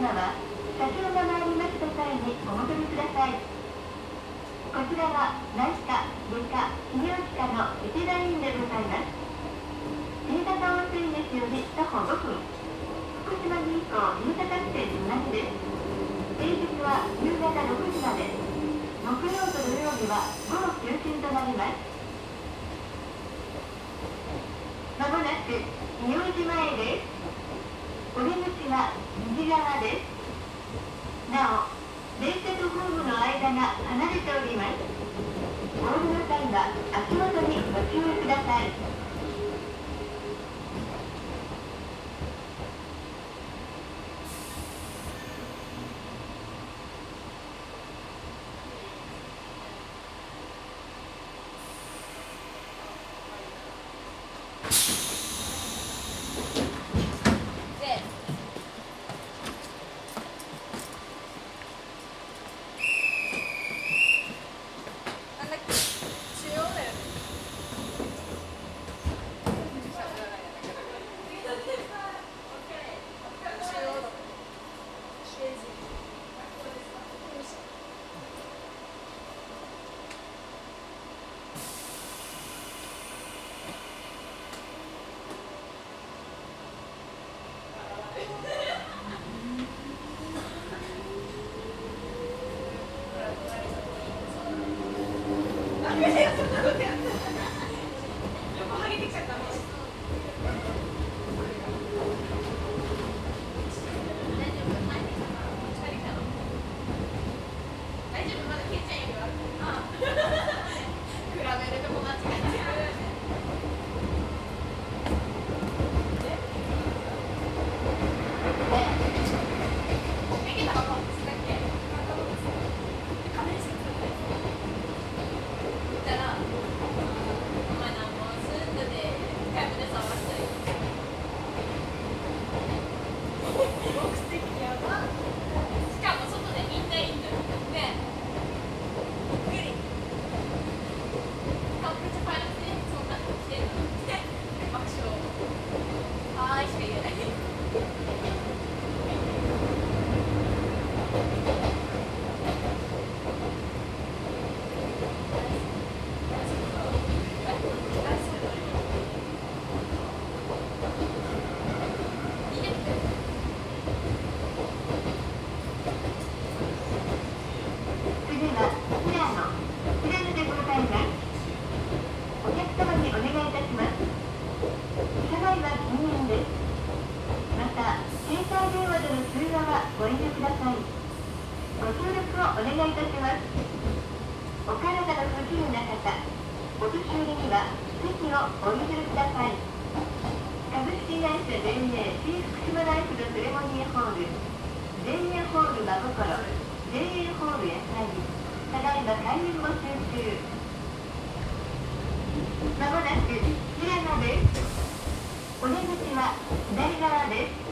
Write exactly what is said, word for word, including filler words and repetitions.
様は車掌が参りました際にお戻りください。こちらは内科、外科、泌尿器科の一大院でございます。新潟温泉駅より徒歩ごふん、福島銀行新潟支店隣です。平日は夕方ろくじまで、木曜と土曜日は午後休診となります。まもなく仁王寺前です。お出口は右側です。なお、電車とホームの間が離れております。お降りの際は足元にご注意ください。まもなく平野です。お出口は左側です。